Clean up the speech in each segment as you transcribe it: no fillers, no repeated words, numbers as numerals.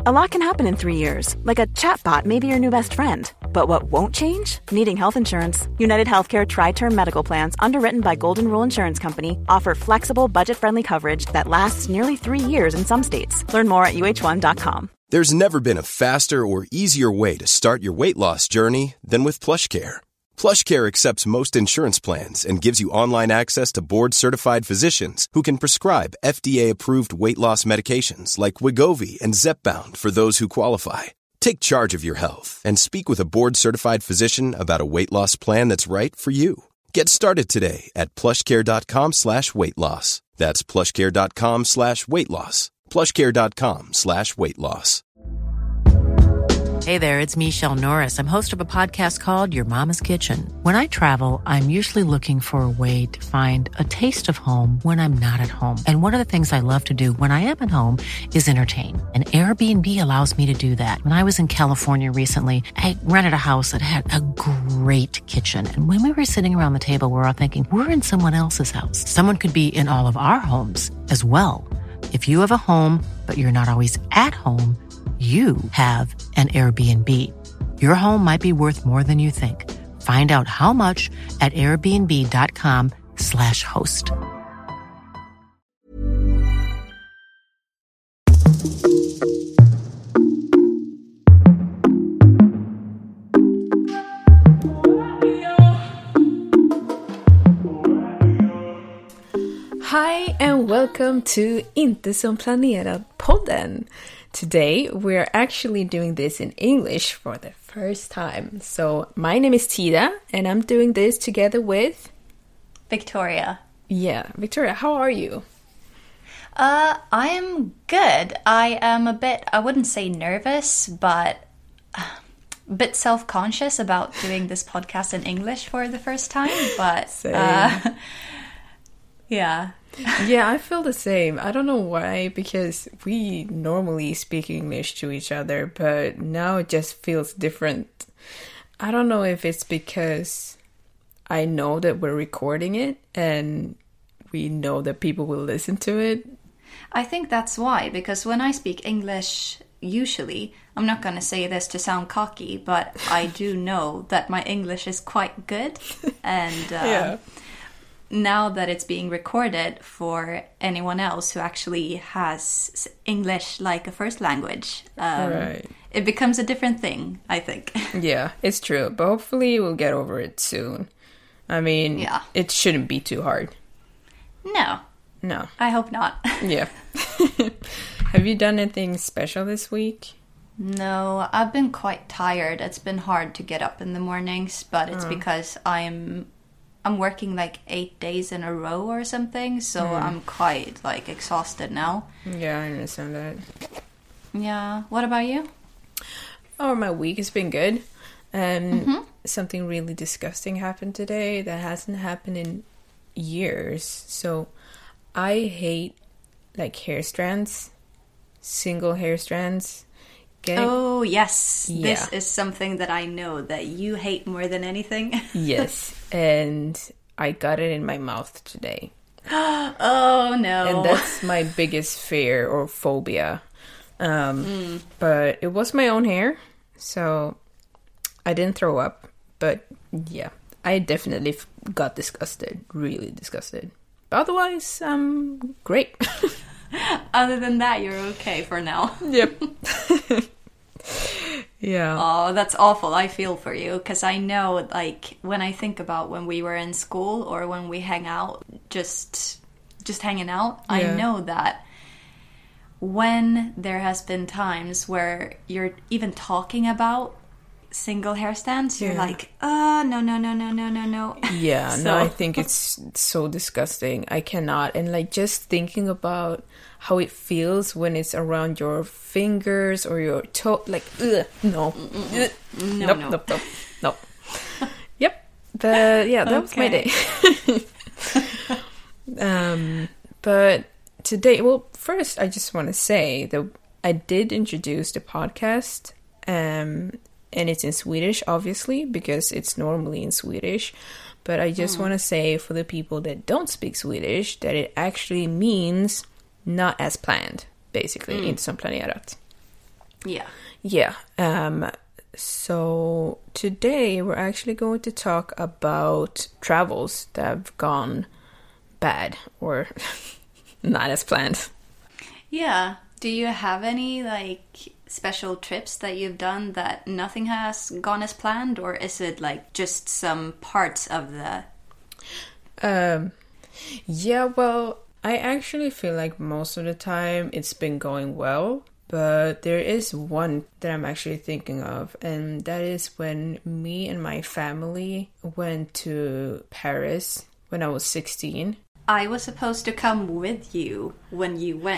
A lot can happen in 3 years, like a chatbot may be your new best friend. But what won't change? Needing health insurance. United Healthcare Tri-Term Medical Plans, underwritten by Golden Rule Insurance Company, offer flexible, budget-friendly coverage that lasts nearly 3 years in some states. Learn more at uh1.com. There's never been a faster or easier way to start your weight loss journey than with PlushCare. PlushCare accepts most insurance plans and gives you online access to board-certified physicians who can prescribe FDA-approved weight loss medications like Wegovy and Zepbound for those who qualify. Take charge of your health and speak with a board-certified physician about a weight loss plan that's right for you. Get started today at plushcare.com/weight loss. That's plushcare.com/weight loss. plushcare.com/weight loss. Hey there, it's Michelle Norris. I'm host of a podcast called Your Mama's Kitchen. When I travel, I'm usually looking for a way to find a taste of home when I'm not at home. And one of the things I love to do when I am at home is entertain. And Airbnb allows me to do that. When I was in California recently, I rented a house that had a great kitchen. And when we were sitting around the table, we were all thinking, we're in someone else's house. Someone could be in all of our homes as well. If you have a home, but you're not always at home, you have an Airbnb. Your home might be worth more than you think. Find out how much at airbnb.com/host. Hi and welcome to Inte som planerad podden. Today we're actually doing this in English for the first time. So my name is Tida and I'm doing this together with Victoria. Yeah, Victoria, how are you? I am good. I am a bit, I wouldn't say nervous, but a bit self-conscious about doing this podcast in English for the first time. But yeah. Yeah, I feel the same. I don't know why, because we normally speak English to each other, but now it just feels different. I don't know if it's because I know that we're recording it and we know that people will listen to it. I think that's why, because when I speak English, usually, I'm not going to say this to sound cocky, but I do know that my English is quite good. And yeah. Now that it's being recorded for anyone else who actually has English like a first language, right. It becomes a different thing, I think. Yeah, it's true. But hopefully we'll get over it soon. I mean, yeah. It shouldn't be too hard. No. I hope not. Yeah. Have you done anything special this week? No, I've been quite tired. It's been hard to get up in the mornings, but it's because I'm working like 8 days in a row or something, so I'm quite like exhausted now. Yeah, I understand that. Yeah. What about you? Oh, my week has been good. Something really disgusting happened today that hasn't happened in years. So I hate like hair strands, single hair strands. Oh, yes. Yeah. This is something that I know that you hate more than anything. Yes. And I got it in my mouth today. Oh, no. And that's my biggest fear or phobia. But it was my own hair, so I didn't throw up. But yeah, I definitely got disgusted. Really disgusted. But otherwise, great. Other than that, you're okay for now. Yep. Yeah. Oh, that's awful. I feel for you, because I know, like, when I think about when we were in school or when we hang out, just hanging out, yeah. I know that when there has been times where you're even talking about single hair stands, you're like, no. Yeah, so. No, I think it's so disgusting. I cannot. And like just thinking about how it feels when it's around your fingers or your toe, like, no. Nope. Yep. But yeah, that was my day. But today, well, first I just want to say that I did introduce the podcast, and it's in Swedish, obviously, because it's normally in Swedish. But I just want to say for the people that don't speak Swedish that it actually means not as planned, basically, inte som planerat. Yeah. Yeah. So today we're actually going to talk about travels that have gone bad or not as planned. Yeah. Do you have any like special trips that you've done that nothing has gone as planned, or is it like just some parts of the... Yeah, well, I actually feel like most of the time it's been going well, but there is one that I'm actually thinking of, and that is when me and my family went to Paris when I was 16. I was supposed to come with you when you went.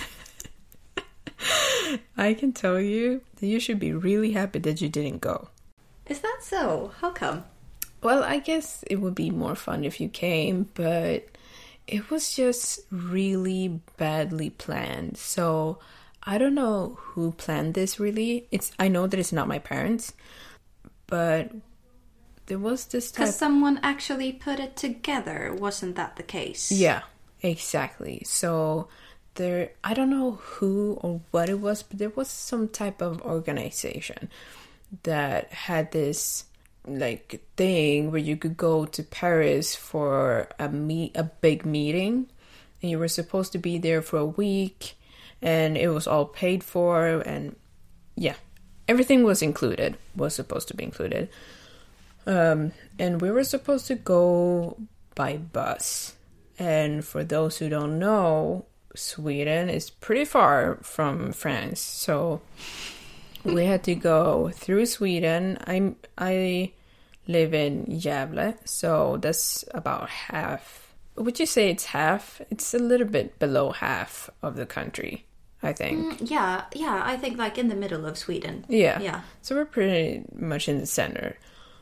I can tell you that you should be really happy that you didn't go. Is that so? How come? Well, I guess it would be more fun if you came, but it was just really badly planned. So I don't know who planned this really. I know that it's not my parents, but there was this type... Because someone actually put it together, wasn't that the case? Yeah, exactly. So I don't know who or what it was, but there was some type of organization that had this like thing where you could go to Paris for a big meeting, and you were supposed to be there for a week, and it was all paid for, and yeah, everything was supposed to be included. And we were supposed to go by bus, and for those who don't know, Sweden is pretty far from France, so we had to go through Sweden. I live in Gävle, so that's about half. Would you say it's half? It's a little bit below half of the country, I think. Yeah, I think like in the middle of Sweden. Yeah. So we're pretty much in the center.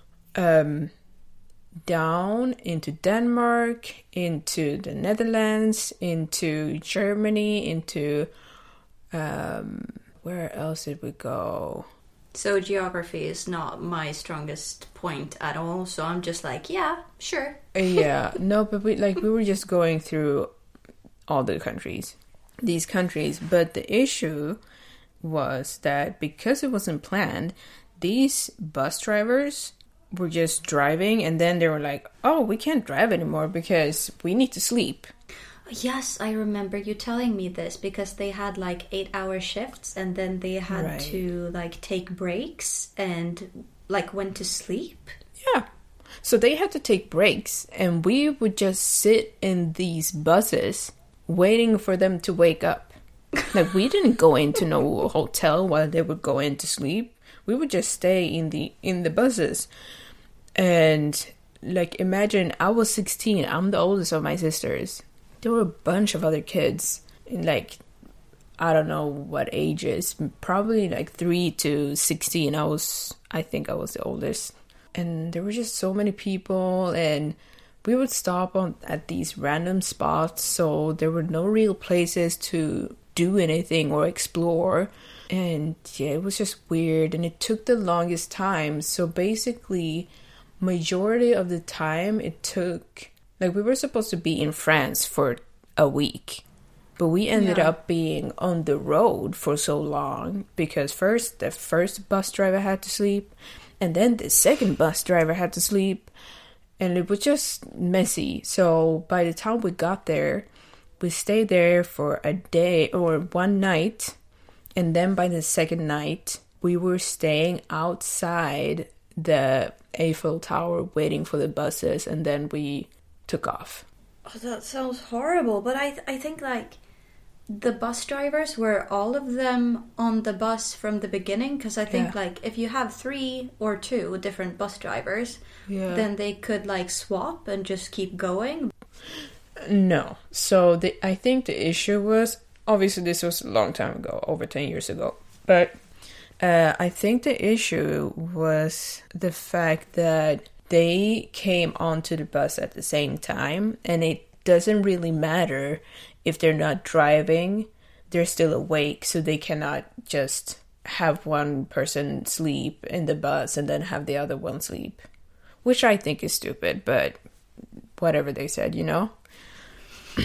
Down into Denmark, into the Netherlands, into Germany, into where else did we go? So geography is not my strongest point at all, so I'm just like, yeah, sure. Yeah, no, but we were just going through all these countries, but the issue was that because it wasn't planned, these bus drivers were just driving, and then they were like, oh, we can't drive anymore because we need to sleep. Yes, I remember you telling me this, because they had like 8-hour shifts, and then they had to like take breaks and like went to sleep. Yeah. So they had to take breaks, and we would just sit in these buses waiting for them to wake up. Like, we didn't go into no hotel while they would go in to sleep. We would just stay in the buses. And like, imagine I was 16. I'm the oldest of my sisters. There were a bunch of other kids in like, I don't know what ages, probably like 3 to 16. I think I was the oldest. And there were just so many people, and we would stop at these random spots, so there were no real places to do anything or explore. And yeah, it was just weird, and it took the longest time. So basically, majority of the time it took, like, we were supposed to be in France for a week, but we ended up being on the road for so long because first the first bus driver had to sleep, and then the second bus driver had to sleep, and it was just messy. So by the time we got there, we stayed there for a day or one night, and then by the second night we were staying outside the Eiffel Tower waiting for the buses, and then we took off. Oh, that sounds horrible, but I think like the bus drivers, were all of them on the bus from the beginning? Because I think like if you have 3 or 2 different bus drivers, then they could like swap and just keep going. No. So I think the issue was, obviously this was a long time ago, over 10 years ago, but I think the issue was the fact that they came onto the bus at the same time, and it doesn't really matter if they're not driving, they're still awake, so they cannot just have one person sleep in the bus and then have the other one sleep, which I think is stupid, but whatever they said, you know?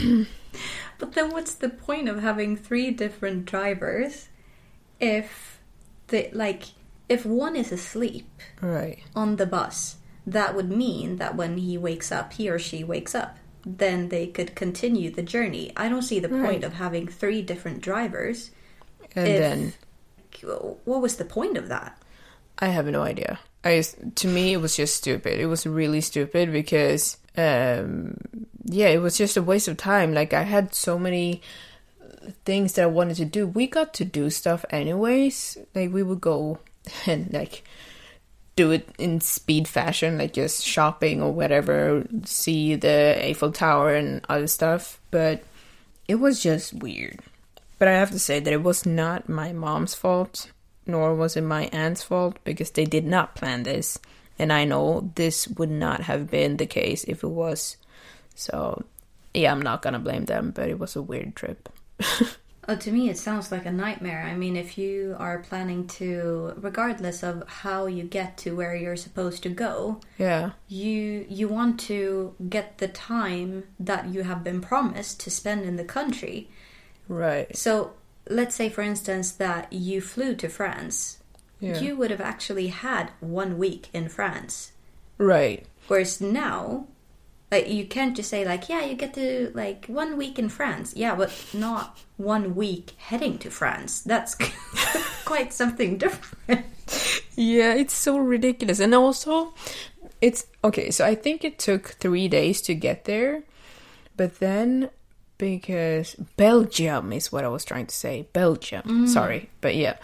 But then what's the point of having 3 different drivers if if one is asleep Right. on the bus, that would mean that when he wakes up, he or she wakes up, then they could continue the journey. I don't see the point of having 3 different drivers. And then what was the point of that? I have no idea. To me, it was just stupid. It was really stupid because, it was just a waste of time. Like, I had so many things that I wanted to do. We got to do stuff anyways. Like, we would go and, like, do it in speed fashion, like just shopping or whatever, see the Eiffel Tower and other stuff. But it was just weird. But I have to say that it was not my mom's fault, nor was it my aunt's fault, because they did not plan this. And I know this would not have been the case if it was. So, yeah, I'm not gonna blame them, but it was a weird trip. To me, it sounds like a nightmare. I mean, if you are planning to, regardless of how you get to where you're supposed to go, Yeah. you want to get the time that you have been promised to spend in the country. Right. So, let's say, for instance, that you flew to France. Yeah. You would have actually had 1 week in France. Right. Whereas now, like, you can't just say, like, yeah, you get to, like, 1 week in France. Yeah, but not 1 week heading to France. That's quite something different. Yeah, it's so ridiculous. And also, it's... Okay, so I think it took 3 days to get there. But then, because... Belgium is what I was trying to say. Belgium. Sorry. But yeah.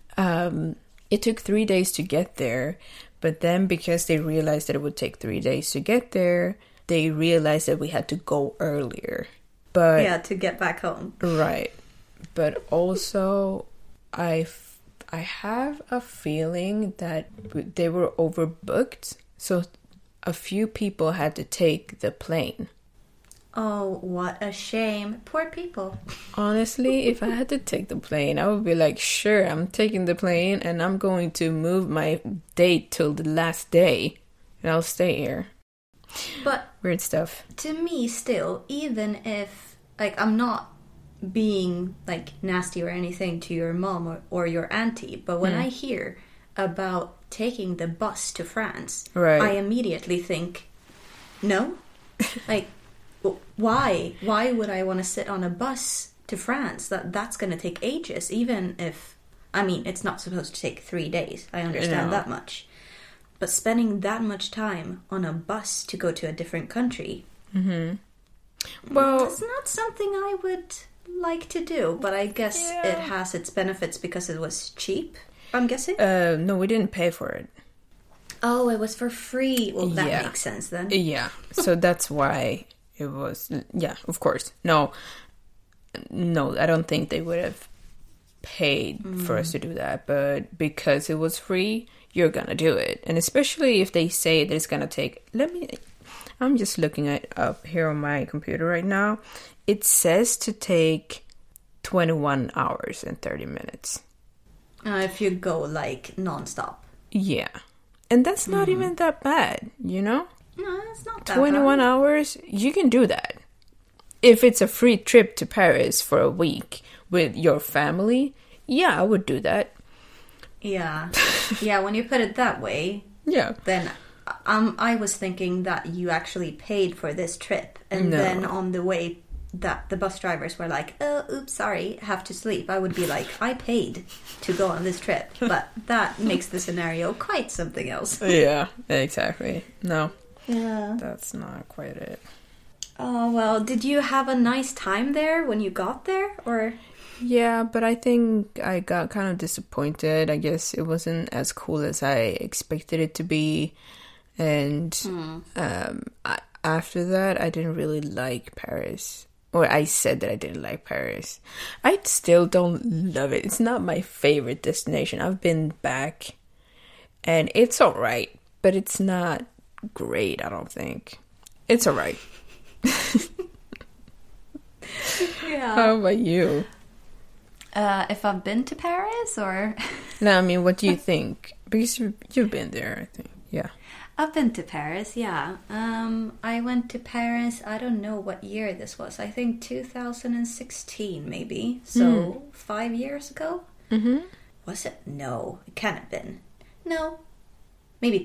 It took 3 days to get there. But then, because they realized that it would take 3 days to get there, they realized that we had to go earlier. But Yeah, to get back home. right. But also, I have a feeling that they were overbooked. So a few people had to take the plane. Oh, what a shame. Poor people. Honestly, if I had to take the plane, I would be like, sure, I'm taking the plane and I'm going to move my date till the last day. And I'll stay here. But Weird stuff. to me, still, even if, like, I'm not being, like, nasty or anything to your mom or your auntie, but when I hear about taking the bus to France, Right. I immediately think, no? Like, why? Why would I want to sit on a bus to France? That's going to take ages, even if, I mean, it's not supposed to take 3 days. I understand No. that much. But spending that much time on a bus to go to a different country, Well, it's not something I would like to do. But I guess it has its benefits because it was cheap, I'm guessing. no, we didn't pay for it. Oh, it was for free. Well, that Yeah. makes sense then. Yeah, so that's why it was. Yeah, of course. No, I don't think they would have paid for us to do that. But because it was free, you're gonna do it. And especially if they say that it's gonna take. I'm just looking it up here on my computer right now. It says to take 21 hours and 30 minutes. If you go, like, non-stop. Yeah. And that's not even that bad, you know? No, it's not that 21 bad. hours, you can do that. If it's a free trip to Paris for a week with your family, yeah, I would do that. Yeah. Yeah, when you put it that way, Yeah. then I was thinking that you actually paid for this trip. And No. then on the way that the bus drivers were like, oh, oops, sorry, have to sleep. I would be like, I paid to go on this trip. But that makes the scenario quite something else. Yeah, exactly. No, Yeah. that's not quite it. Oh, well, did you have a nice time there when you got there? Or... Yeah, but I think I got kind of disappointed. I guess it wasn't as cool as I expected it to be. And after that, I didn't really like Paris. Or I said that I didn't like Paris. I still don't love it. It's not my favorite destination. I've been back and it's alright, but it's not great, I don't think. It's alright. Yeah. How about you? If I've been to Paris, or... No, I mean, what do you think? Because you've been there, I think. Yeah. I've been to Paris, yeah. I went to Paris, I don't know what year this was. I think 2016, maybe. So, 5 years ago. Was it? No, it can't have been. No. Maybe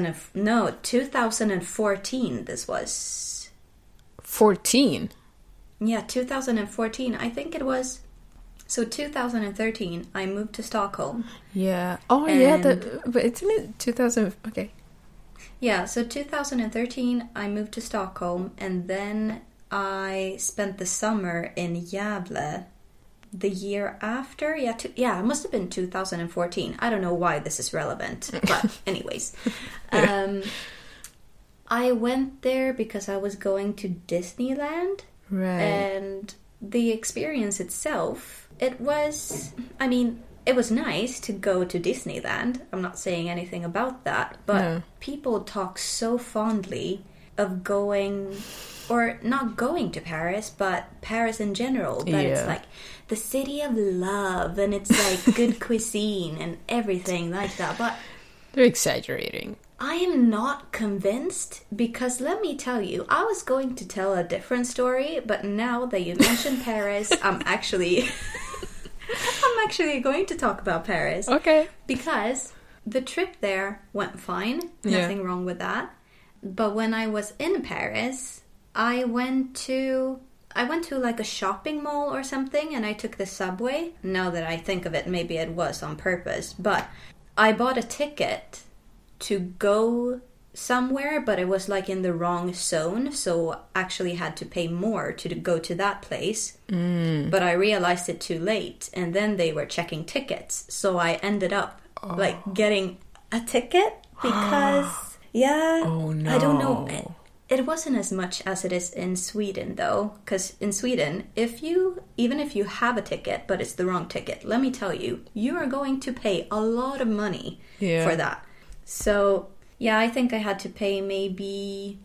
2014 this was. 14? Yeah, 2014, I think it was. So 2013, I moved to Stockholm. Yeah. Oh, yeah, but it's in 2000... Okay. Yeah, so 2013, I moved to Stockholm, and then I spent the summer in Gävle the year after. Yeah, it must have been 2014. I don't know why this is relevant, but anyways. I went there because I was going to Disneyland. Right. And the experience itself, it was nice to go to Disneyland. I'm not saying anything about that, but people talk so fondly of going, or not going to Paris, but Paris in general, that it's like the city of love, and it's like good cuisine and everything like that. But they're exaggerating. I am not convinced, because let me tell you, I was going to tell a different story, but now that you mentioned Paris, I'm actually going to talk about Paris. Okay. Because the trip there went fine. Nothing wrong with that. But when I was in Paris, I went to like a shopping mall or something, and I took the subway. Now that I think of it, maybe it was on purpose, but I bought a ticket to go somewhere, but it was like in the wrong zone, so actually had to pay more to go to that place. But I realized it too late, and then they were checking tickets, so I ended up like getting a ticket because Oh no. I don't know, it wasn't as much as it is in Sweden though, because in Sweden, even if you have a ticket but it's the wrong ticket, let me tell you, you are going to pay a lot of money for that. So, yeah, I think I had to pay maybe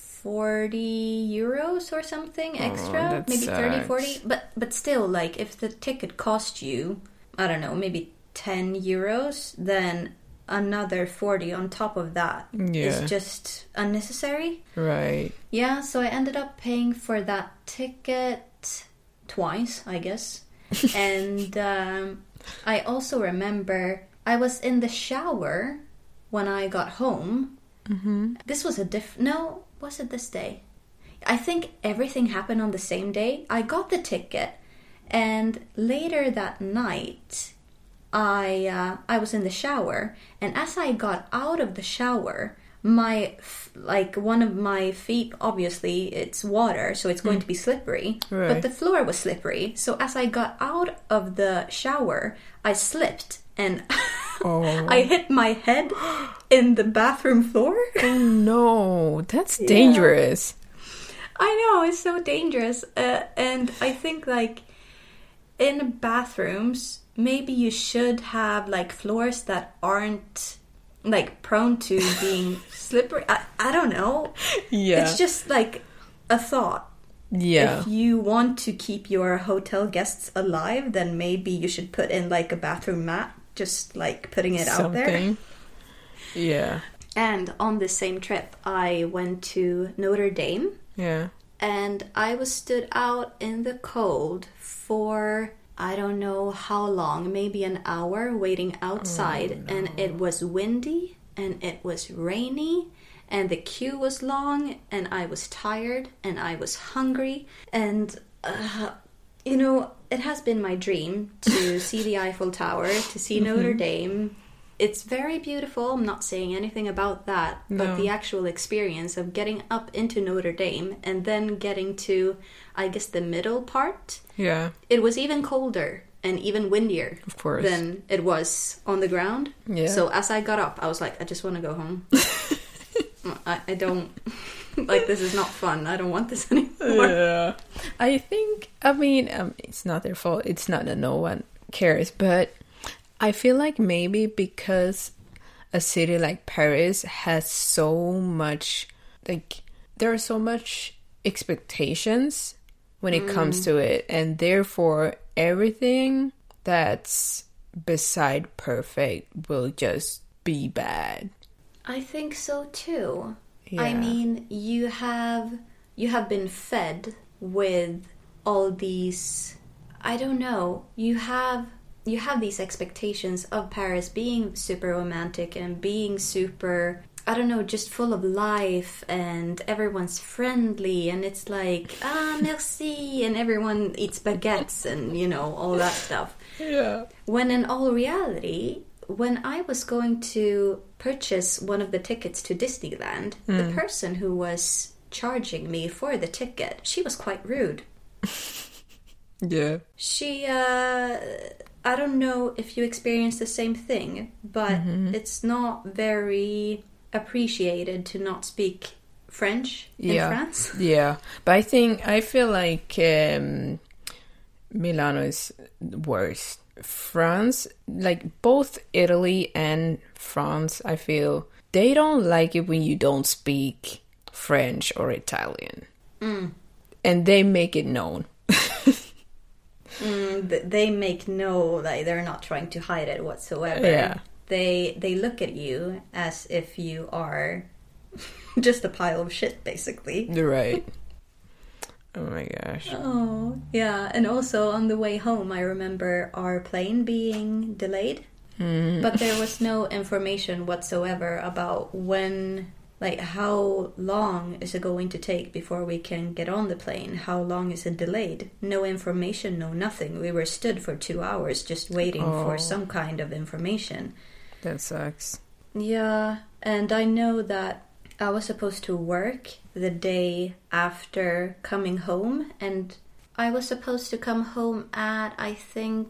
40 euros or something extra. Maybe 30, 40. But still, like, if the ticket cost you, I don't know, maybe 10 euros, then another 40 on top of that is just unnecessary. Right. Yeah, so I ended up paying for that ticket twice, I guess. And I also remember I was in the shower when I got home. This was was it this day? I think everything happened on the same day. I got the ticket, and later that night, I was in the shower, and as I got out of the shower, one of my feet, obviously it's water, so it's going to be slippery, but the floor was slippery. So as I got out of the shower, I slipped, and I hit my head in the bathroom floor. Oh no, that's dangerous. I know, it's so dangerous. And I think, like, in bathrooms, maybe you should have, like, floors that aren't, like, prone to being slippery. I don't know. Yeah. It's just, like, a thought. Yeah. If you want to keep your hotel guests alive, then maybe you should put in, like, a bathroom mat. Just, like, putting it out there. Yeah. And on the same trip, I went to Notre Dame. Yeah. And I was stood out in the cold for, I don't know how long, maybe an hour, waiting outside. Oh, no. And it was windy, and it was rainy, and the queue was long, and I was tired, and I was hungry. And, you know, it has been my dream to see the Eiffel Tower, to see Notre Dame. It's very beautiful. I'm not saying anything about that. But the actual experience of getting up into Notre Dame and then getting to, I guess, the middle part. Yeah. It was even colder and even windier, of course, than it was on the ground. Yeah. So as I got up, I was like, I just want to go home. I don't... Like, this is not fun. I don't want this anymore. Yeah. I mean, it's not their fault. It's not that no one cares. But I feel like maybe because a city like Paris has so much, like, there are so much expectations when it comes to it. And therefore, everything that's beside perfect will just be bad. I think so, too. Yeah. I mean, you have been fed with all these, I don't know, you have you have these expectations of Paris being super romantic and being super, I don't know, just full of life, and everyone's friendly, and it's like, merci, and everyone eats baguettes and, you know, all that stuff. Yeah. When in all reality, when I was going to purchase one of the tickets to Disneyland, the person who was charging me for the ticket, she was quite rude. Yeah. She, I don't know if you experienced the same thing, but it's not very appreciated to not speak French in France. Yeah, but I feel like Milano is worse. France, like both Italy and France, I feel they don't like it when you don't speak French or Italian. And they make it known. They make like they're not trying to hide it whatsoever. Yeah. They look at you as if you are just a pile of shit, basically. Right. Oh my gosh. Oh, yeah. And also on the way home, I remember our plane being delayed. But there was no information whatsoever about when, like, how long is it going to take before we can get on the plane? How long is it delayed? No information, no nothing. We were stood for 2 hours just waiting for some kind of information. That sucks. Yeah, and I know that I was supposed to work the day after coming home, and I was supposed to come home at, I think,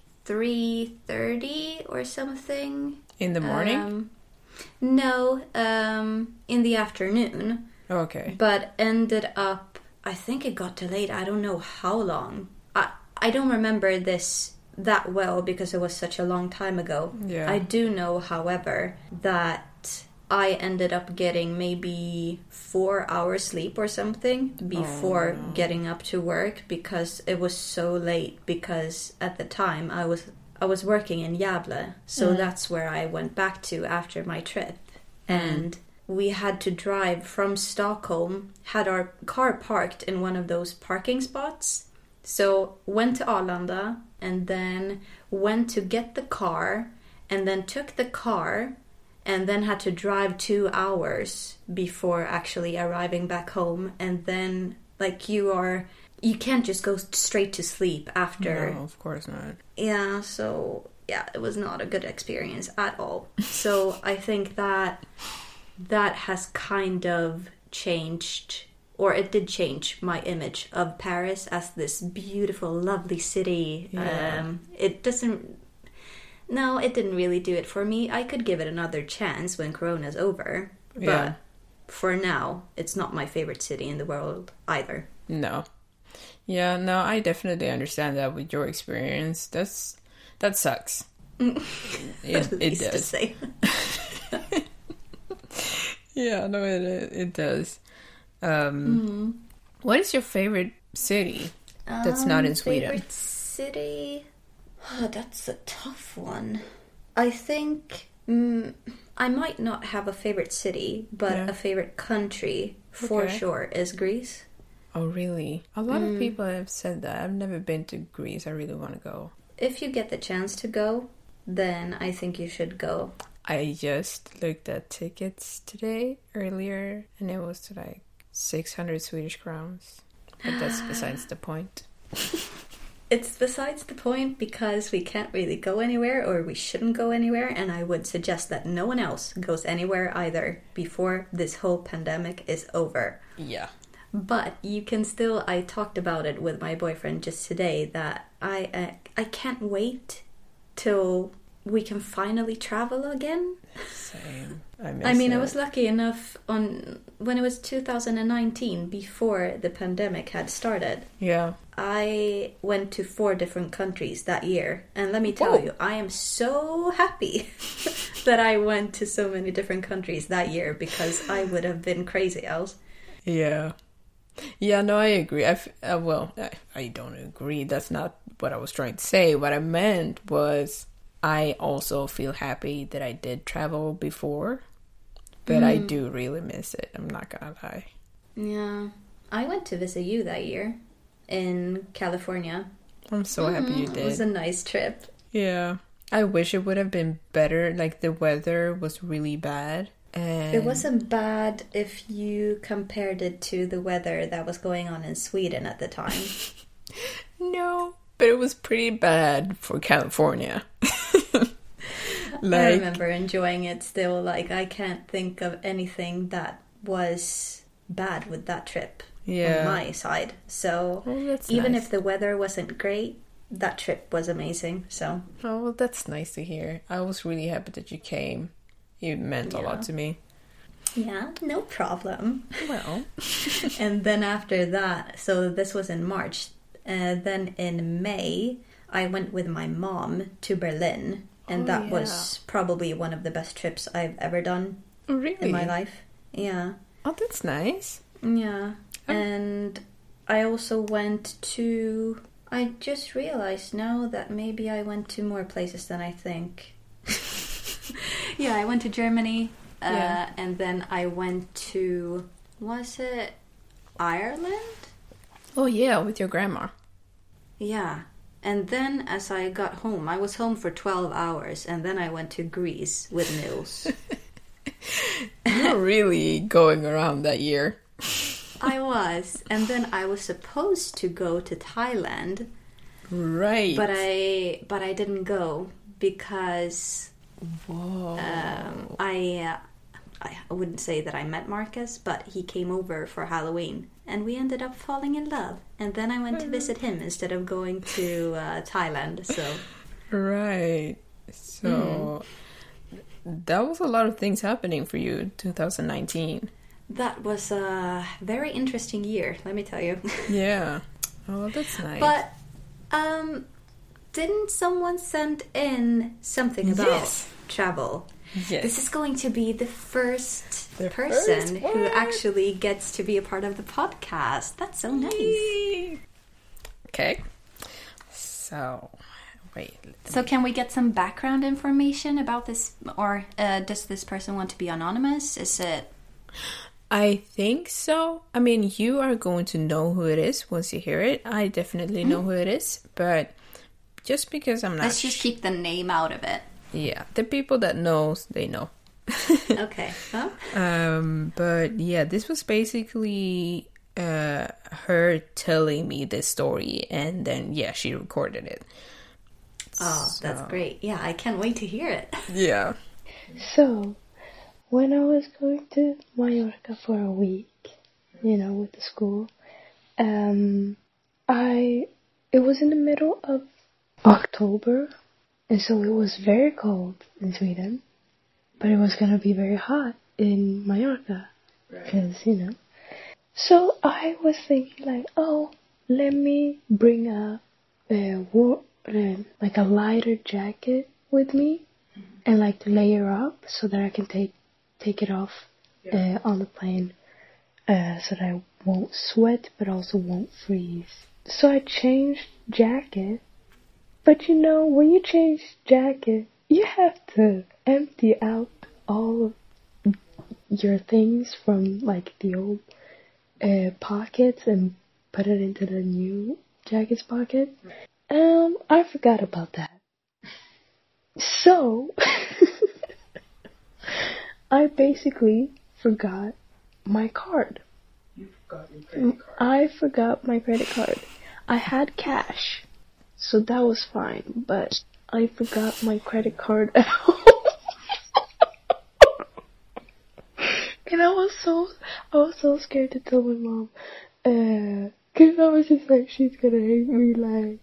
3:30 or something. In the morning? No, in the afternoon. Okay. But ended up, I think it got delayed. I don't know how long. I don't remember this that well because it was such a long time ago. Yeah. I do know, however, that I ended up getting maybe 4 hours sleep or something before getting up to work because it was so late, because at the time I was working in Gävle, so that's where I went back to after my trip. And we had to drive from Stockholm, had our car parked in one of those parking spots. So went to Arlanda and then went to get the car and then took the car and then had to drive 2 hours before actually arriving back home. And then, like, you can't just go straight to sleep after. No, of course not. Yeah, so, yeah, it was not a good experience at all. So I think that has kind of changed, or it did change my image of Paris as this beautiful, lovely city. Yeah. It didn't really do it for me. I could give it another chance when Corona's over. Yeah. But for now, it's not my favorite city in the world either. No. Yeah, no, I definitely understand that with your experience. That sucks. It does. To say. Yeah, no, it does. What is your favorite city that's not in Sweden? Favorite city? Oh, that's a tough one. I think I might not have a favorite city, but a favorite country for sure is Greece. Oh, really? A lot of people have said that. I've never been to Greece. I really want to go. If you get the chance to go, then I think you should go. I just looked at tickets earlier, and it was like 600 Swedish crowns. But that's besides the point. It's besides the point because we can't really go anywhere, or we shouldn't go anywhere, and I would suggest that no one else goes anywhere either before this whole pandemic is over. Yeah. But you can still, I talked about it with my boyfriend just today, that I can't wait till we can finally travel again. Same. I mean, I was lucky enough when it was 2019, before the pandemic had started. Yeah. I went to 4 different countries that year. And let me tell you, I am so happy that I went to so many different countries that year, because I would have been crazy else. Yeah. Yeah, no, I agree. I don't agree. That's not what I was trying to say. What I meant was I also feel happy that I did travel before, but I do really miss it. I'm not gonna lie. Yeah. I went to visit you that year in California. I'm so happy you did. It was a nice trip. Yeah. I wish it would have been better. Like, the weather was really bad. And it wasn't bad if you compared it to the weather that was going on in Sweden at the time. No, but it was pretty bad for California. I remember enjoying it still. Like, I can't think of anything that was bad with that trip on my side. So even if the weather wasn't great, that trip was amazing. So well, that's nice to hear. I was really happy that you came. It meant a lot to me. Yeah, no problem. Well. And then after that, so this was in March. Then in May, I went with my mom to Berlin. And that was probably one of the best trips I've ever done in my life. Yeah. Oh, that's nice. Yeah. And I also went to... I just realized now that maybe I went to more places than I think. Yeah, I went to Germany. And then I went to... Was it Ireland? Oh, yeah, with your grandma. Yeah. And then as I got home, I was home for 12 hours. And then I went to Greece with Nils. You were really going around that year. I was. And then I was supposed to go to Thailand. Right. But I didn't go because I wouldn't say that I met Marcus, but he came over for Halloween. And we ended up falling in love. And then I went to visit him instead of going to Thailand. So right. So that was a lot of things happening for you in 2019. That was a very interesting year, let me tell you. Yeah. Oh, that's nice. But didn't someone send in something about travel? Yes. This is going to be the first person who actually gets to be a part of the podcast. That's so nice. Yay. Okay. So, wait. So can we get some background information about this? Or does this person want to be anonymous? Is it... I think so. I mean, you are going to know who it is once you hear it. I definitely know who it is. But just because I'm not... Let's just keep the name out of it. Yeah, the people that knows, they know. Okay. Huh? But yeah, this was basically her telling me this story, and then she recorded it. Oh, that's great. Yeah, I can't wait to hear it. Yeah. So, when I was going to Mallorca for a week, with the school, it was in the middle of October. And so it was very cold in Sweden, but it was going to be very hot in Mallorca, because, So I was thinking let me bring a lighter jacket with me and to layer up so that I can take it off on the plane so that I won't sweat but also won't freeze. So I changed jacket. But when you change jacket, you have to empty out all of your things from the old pockets and put it into the new jacket's pocket. I forgot about that. So I basically forgot my card. You forgot your credit card. I forgot my credit card. I had cash. So that was fine, but I forgot my credit card at home. And I was so scared to tell my mom, cause I was just she's gonna hate me,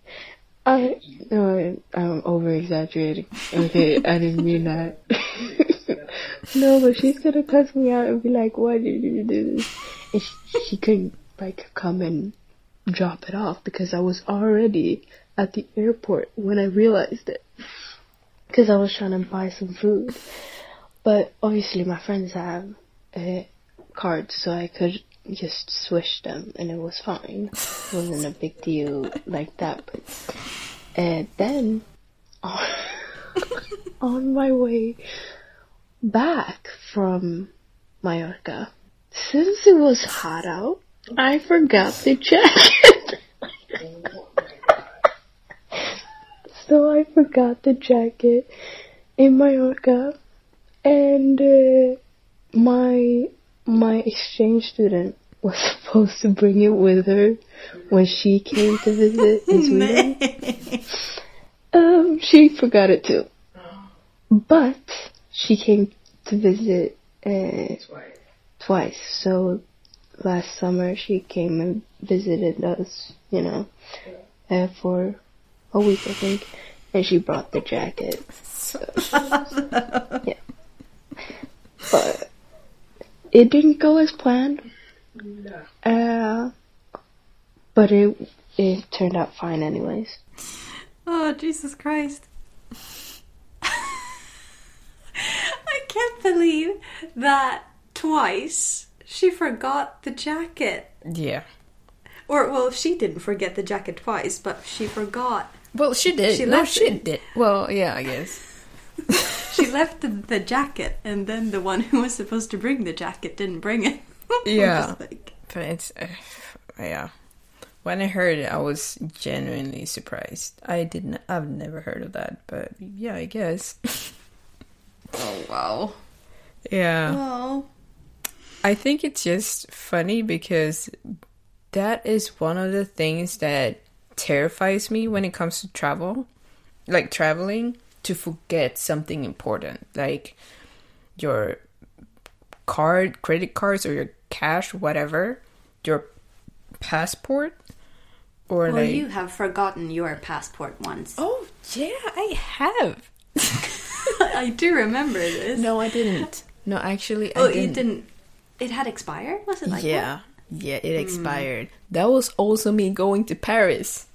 I'm over exaggerating. Okay, I didn't mean that. No, but she's gonna cuss me out and be like, why did you do this? And she couldn't, come and drop it off because I was already at the airport when I realized it, because I was trying to buy some food. But obviously my friends have cards, so I could just swish them and it was fine. It wasn't a big deal like that. But then on my way back from Mallorca, since it was hot out, I forgot the jacket. So I forgot the jacket in Mallorca, and my exchange student was supposed to bring it with her when she came to visit in Sweden. She forgot it too. But she came to visit twice. So last summer she came and visited us, for a week, I think. And she brought the jacket. So, yeah. But it didn't go as planned. No. But it turned out fine anyways. Oh, Jesus Christ. I can't believe that twice she forgot the jacket. Yeah. Or, well, she didn't forget the jacket twice, but she forgot. Well, she did. She did. Well, yeah, I guess. She left the jacket, and then the one who was supposed to bring the jacket didn't bring it. Yeah. But it's... yeah. When I heard it, I was genuinely surprised. I've never heard of that, but yeah, I guess. Oh, wow. Yeah. Wow. I think it's just funny because that is one of the things that terrifies me when it comes to travel. Like traveling, to forget something important. Like your credit cards or your cash, whatever. Your passport. Or well, you have forgotten your passport once. Oh, yeah, I have. I do remember this. No, I didn't. No, actually, I didn't. Oh, you didn't? It had expired? Was it like that? Yeah, it expired. That was also me going to Paris.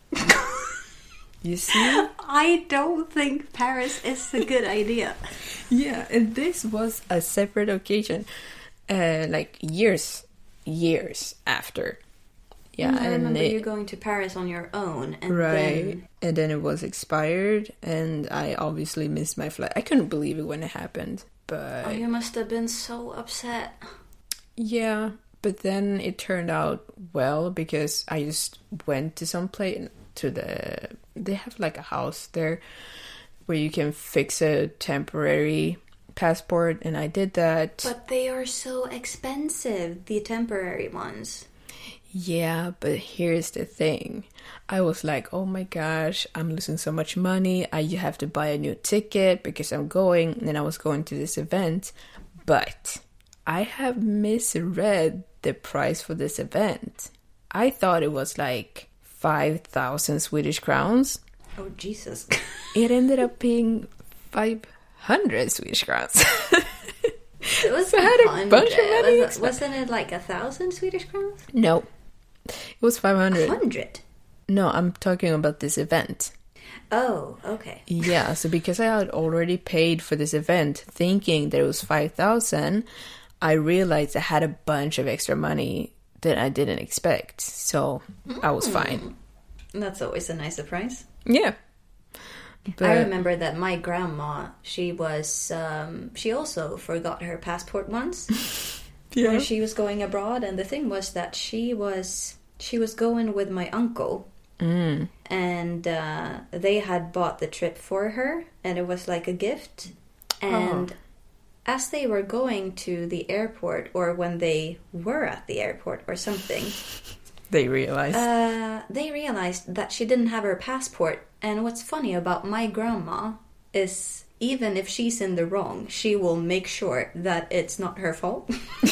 You see? I don't think Paris is a good idea. Yeah, and this was a separate occasion. Like years after. Yeah, I remember you going to Paris on your own. And and then it was expired, and I obviously missed my flight. I couldn't believe it when it happened, but... Oh, you must have been so upset. Yeah, but then it turned out well, because I just went to some place, they have like a house there, where you can fix a temporary passport, and I did that. But they are so expensive, the temporary ones. Yeah, but here's the thing. I was like, oh my gosh, I'm losing so much money. You have to buy a new ticket because I'm going. And I was going to this event. But I have misread the price for this event. I thought it was like 5,000 Swedish crowns. Oh, Jesus. It ended up being 500 Swedish crowns. It was so I had a bunch of money. Wasn't it like 1,000 Swedish crowns? No. It was 500. 100? No, I'm talking about this event. Oh, okay. Yeah, so because I had already paid for this event, thinking that it was 5,000, I realized I had a bunch of extra money that I didn't expect. So I was fine. That's always a nice surprise. Yeah. But I remember that my grandma, she also forgot her passport once. Yeah. When she was going abroad, and the thing was that she was going with my uncle, and they had bought the trip for her, and it was like a gift. And as they were going to the airport, or when they were at the airport or something, they realized that she didn't have her passport. And what's funny about my grandma is, even if she's in the wrong, she will make sure that it's not her fault.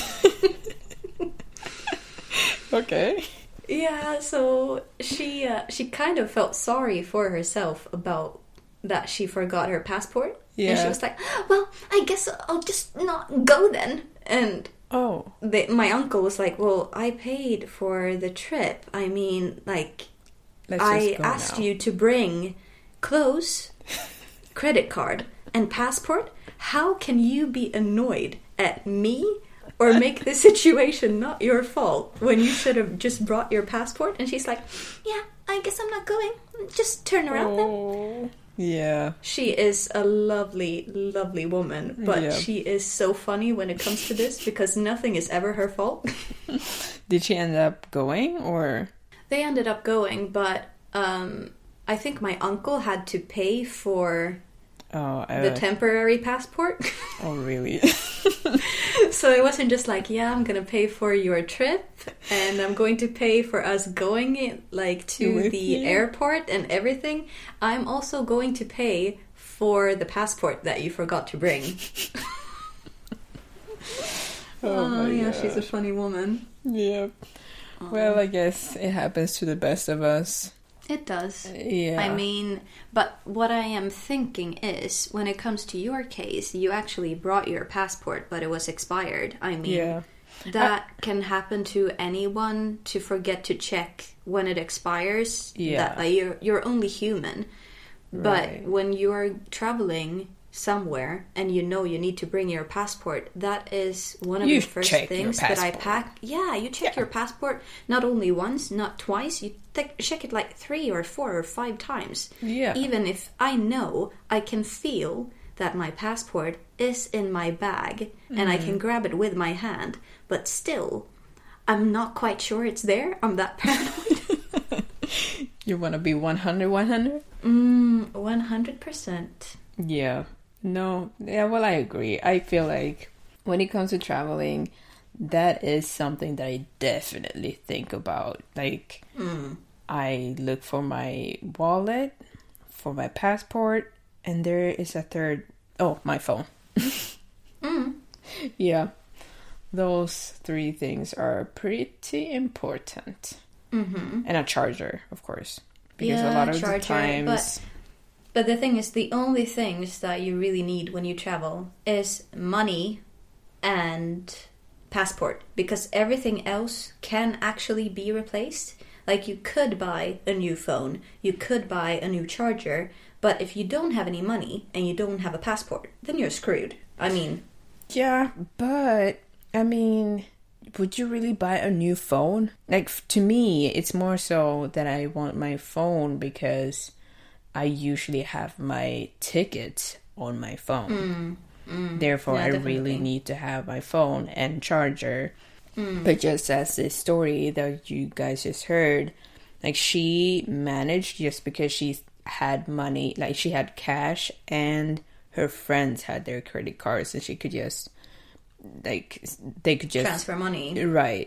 Okay. Yeah, so she kind of felt sorry for herself about that she forgot her passport. Yeah. And she was like, well, I guess I'll just not go then. And my uncle was like, well, I paid for the trip. I mean, like, I asked you to bring clothes, credit card, and passport. How can you be annoyed at me or make the situation not your fault when you should have just brought your passport? And she's like, yeah, I guess I'm not going. Just turn around then. Yeah. She is a lovely, lovely woman, but she is so funny when it comes to this, because nothing is ever her fault. Did she end up going, or? They ended up going, but I think my uncle had to pay for the temporary passport. Oh, really? So it wasn't just like, yeah, I'm going to pay for your trip and I'm going to pay for us going like to the airport and everything. I'm also going to pay for the passport that you forgot to bring. Oh yeah, God. She's a funny woman. Yeah. Well, I guess it happens to the best of us. It does. Yeah. I mean, but what I am thinking is, when it comes to your case, you actually brought your passport, but it was expired. I mean, that can happen to anyone, to forget to check when it expires. Yeah. That you're only human. Right. But when you're traveling somewhere and you know you need to bring your passport, that is one of the first things that I pack. Yeah, you check your passport not only once, not twice. You check it like 3 or 4 or 5 times. Yeah. Even if I know, I can feel that my passport is in my bag and I can grab it with my hand, but still, I'm not quite sure it's there. I'm that paranoid. You want to be 100? 100%. Yeah. No, yeah, well, I agree. I feel like when it comes to traveling, that is something that I definitely think about. Like, I look for my wallet, for my passport, and there is a third. Oh, my phone. Yeah. Those 3 things are pretty important. And a charger, of course. Because a lot of the times... But the thing is, the only things that you really need when you travel is money and passport. Because everything else can actually be replaced. Like, you could buy a new phone, you could buy a new charger, but if you don't have any money and you don't have a passport, then you're screwed. I mean... Yeah, but, I mean... Would you really buy a new phone? Like, to me, it's more so that I want my phone because... I usually have my tickets on my phone. Therefore, I really need to have my phone and charger. But just as this story that you guys just heard, like, she managed just because she had money, like, she had cash and her friends had their credit cards and she could just, like, they could just... transfer money. Right.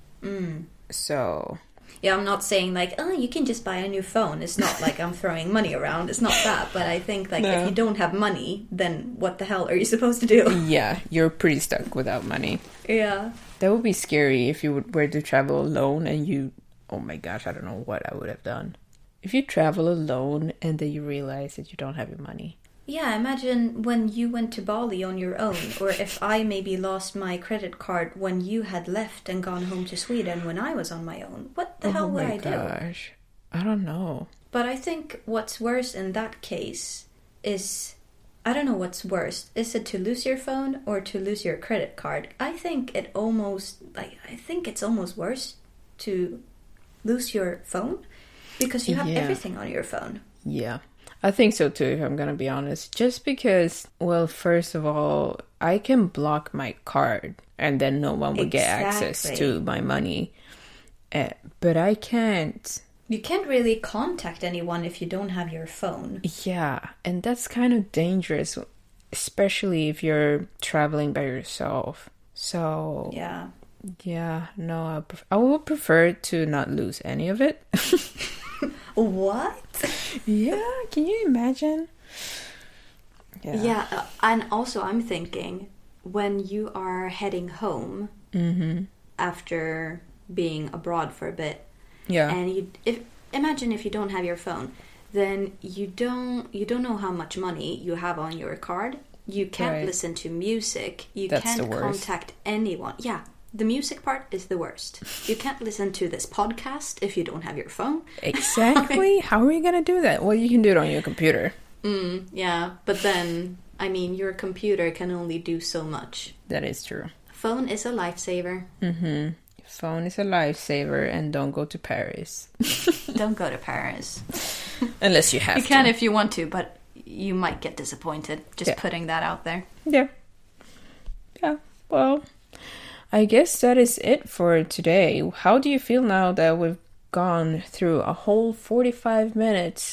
So... Yeah, I'm not saying like, oh, you can just buy a new phone. It's not like I'm throwing money around. It's not that. But I think like if you don't have money, then what the hell are you supposed to do? Yeah, you're pretty stuck without money. Yeah. That would be scary if you were to travel alone and you... Oh my gosh, I don't know what I would have done. If you travel alone and then you realize that you don't have your money. Yeah, imagine when you went to Bali on your own, or if I maybe lost my credit card when you had left and gone home to Sweden when I was on my own. What the hell would I do? Oh my gosh, I don't know. But I think what's worse in that case is, I don't know what's worse. Is it to lose your phone or to lose your credit card? I think it's almost worse to lose your phone because you have everything on your phone. Yeah. I think so too, if I'm gonna be honest. Just because, well, first of all, I can block my card and then no one will get access to my money. But I can't... You can't really contact anyone if you don't have your phone. Yeah, and that's kind of dangerous, especially if you're traveling by yourself. So... Yeah, no, I would prefer to not lose any of it. What? Yeah, can you imagine? Yeah, and also I'm thinking, when you are heading home after being abroad for a bit, and imagine if you don't have your phone, then you don't know how much money you have on your card. You can't listen to music. That's can't contact anyone. Yeah. The music part is the worst. You can't listen to this podcast if you don't have your phone. Exactly. How are you going to do that? Well, you can do it on your computer. Yeah, but then, I mean, your computer can only do so much. That is true. Phone is a lifesaver. Phone is a lifesaver, and don't go to Paris. Don't go to Paris. Unless you have to. You can if you want to, but you might get disappointed. Just putting that out there. Yeah. Yeah, well... I guess that is it for today. How do you feel now that we've gone through a whole 45 minutes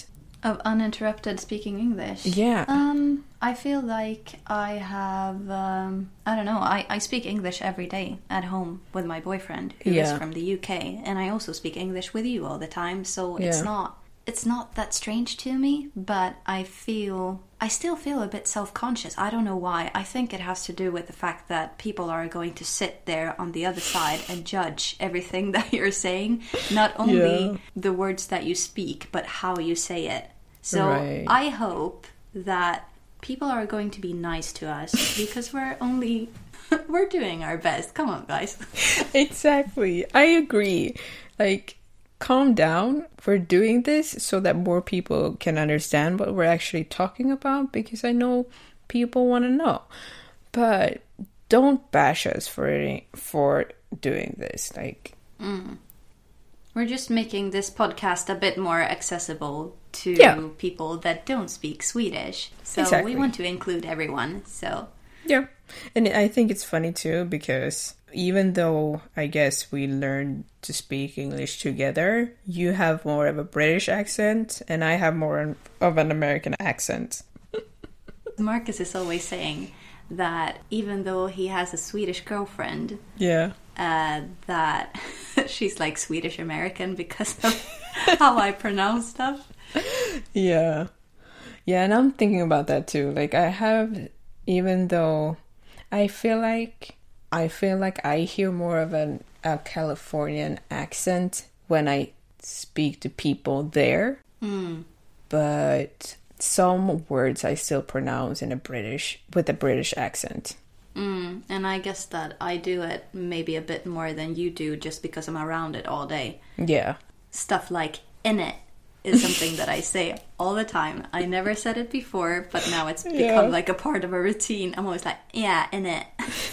Of uninterrupted speaking English? Yeah. I feel like I have, I don't know, I speak English every day at home with my boyfriend, who is from the UK, and I also speak English with you all the time, so it's not that strange to me, but I still feel a bit self-conscious. I don't know why. I think it has to do with the fact that people are going to sit there on the other side and judge everything that you're saying, not only the words that you speak, but how you say it. So I hope that people are going to be nice to us, because we're doing our best. Come on, guys. Exactly. I agree. Like, calm down. We're doing this so that more people can understand what we're actually talking about, because I know people want to know. But don't bash us for doing this. Like, we're just making this podcast a bit more accessible to people that don't speak Swedish. So we want to include everyone. So yeah. And I think it's funny too, because even though I guess we learned to speak English together, you have more of a British accent and I have more of an American accent. Marcus is always saying that even though he has a Swedish girlfriend, that she's like Swedish American because of how I pronounce stuff. Yeah, and I'm thinking about that too. Like, even though I feel like I hear more of a Californian accent when I speak to people there, but some words I still pronounce with a British accent. And I guess that I do it maybe a bit more than you do, just because I'm around it all day. Yeah. Stuff like "in it" is something that I say all the time. I never said it before, but now it's become like a part of a routine. I'm always like, yeah, in it.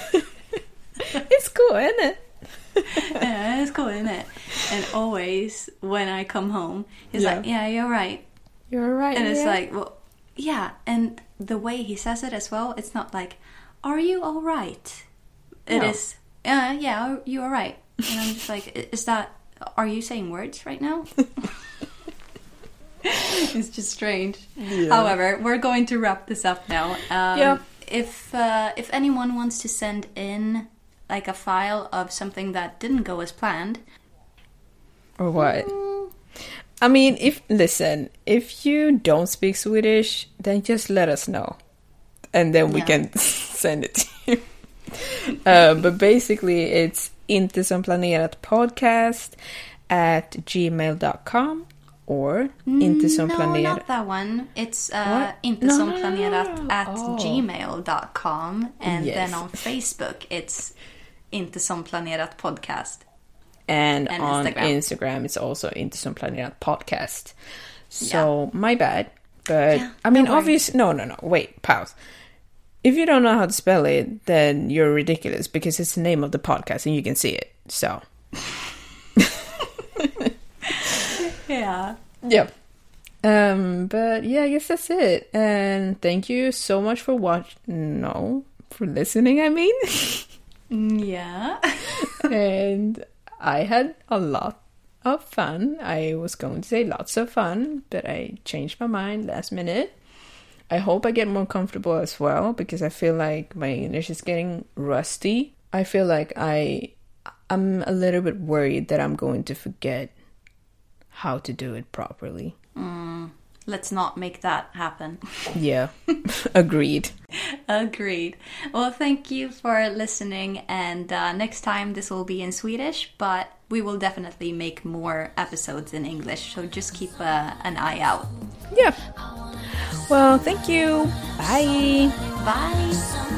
It's cool, isn't it? Yeah, it's cool, isn't it? And always when I come home, he's like, yeah, you're right. You're right. And it's like, well, yeah. And the way he says it as well, it's not like, are you all right? It is, yeah, you are right. And I'm just like, are you saying words right now? It's just strange. Yeah. However, we're going to wrap this up now. If anyone wants to send in like a file of something that didn't go as planned, or what? I mean, if you don't speak Swedish, then just let us know, and then we can send it to you. But basically, it's intesompaneratpodcast@gmail.com. Or intesompanerat. No, not that one. It's intesompanerat@gmail.com. And then on Facebook, it's Intesompanerat podcast. And on Instagram, it's also Intesompanerat podcast. So, my bad. But, I mean, obviously... No. Wait, pause. If you don't know how to spell it, then you're ridiculous, because it's the name of the podcast and you can see it. So... Yeah. But yeah, I guess that's it. And thank you so much for for listening, I mean. Yeah. And I had a lot of fun. I was going to say lots of fun, but I changed my mind last minute. I hope I get more comfortable as well, because I feel like my English is getting rusty. I feel like I'm a little bit worried that I'm going to forget how to do it properly. Let's not make that happen. Yeah, agreed. Well, thank you for listening, and next time this will be in Swedish, but we will definitely make more episodes in English, so just keep an eye out. Yeah. Well, thank you. Bye. Bye.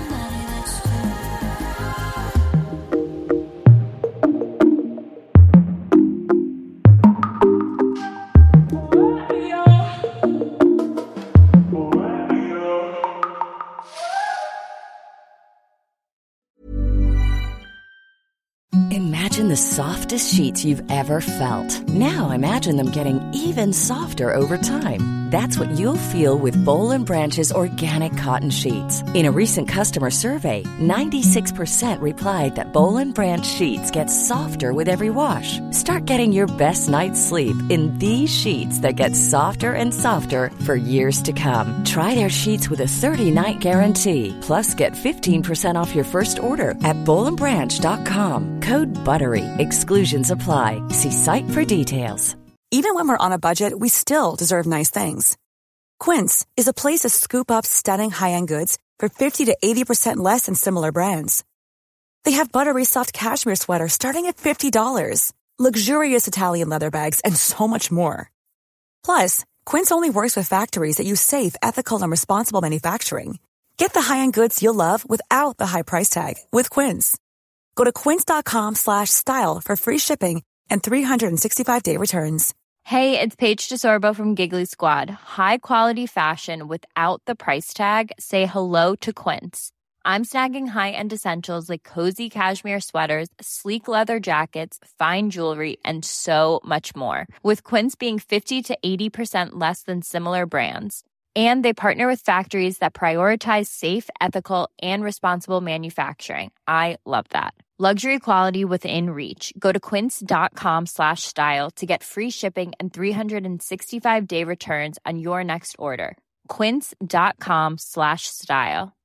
Imagine the softest sheets you've ever felt. Now imagine them getting even softer over time. That's what you'll feel with Boll & Branch's organic cotton sheets. In a recent customer survey, 96% replied that Boll & Branch sheets get softer with every wash. Start getting your best night's sleep in these sheets that get softer and softer for years to come. Try their sheets with a 30-night guarantee. Plus, get 15% off your first order at bollandbranch.com. Code BUTTERY. Exclusions apply. See site for details. Even when we're on a budget, we still deserve nice things. Quince is a place to scoop up stunning high-end goods for 50 to 80% less than similar brands. They have buttery soft cashmere sweaters starting at $50, luxurious Italian leather bags, and so much more. Plus, Quince only works with factories that use safe, ethical, and responsible manufacturing. Get the high-end goods you'll love without the high price tag with Quince. Go to quince.com/style for free shipping and 365-day returns. Hey, it's Paige DeSorbo from Giggly Squad. High quality fashion without the price tag. Say hello to Quince. I'm snagging high-end essentials like cozy cashmere sweaters, sleek leather jackets, fine jewelry, and so much more. With Quince being 50 to 80% less than similar brands. And they partner with factories that prioritize safe, ethical, and responsible manufacturing. I love that. Luxury quality within reach. Go to quince.com/style to get free shipping and 365-day returns on your next order. Quince.com/style.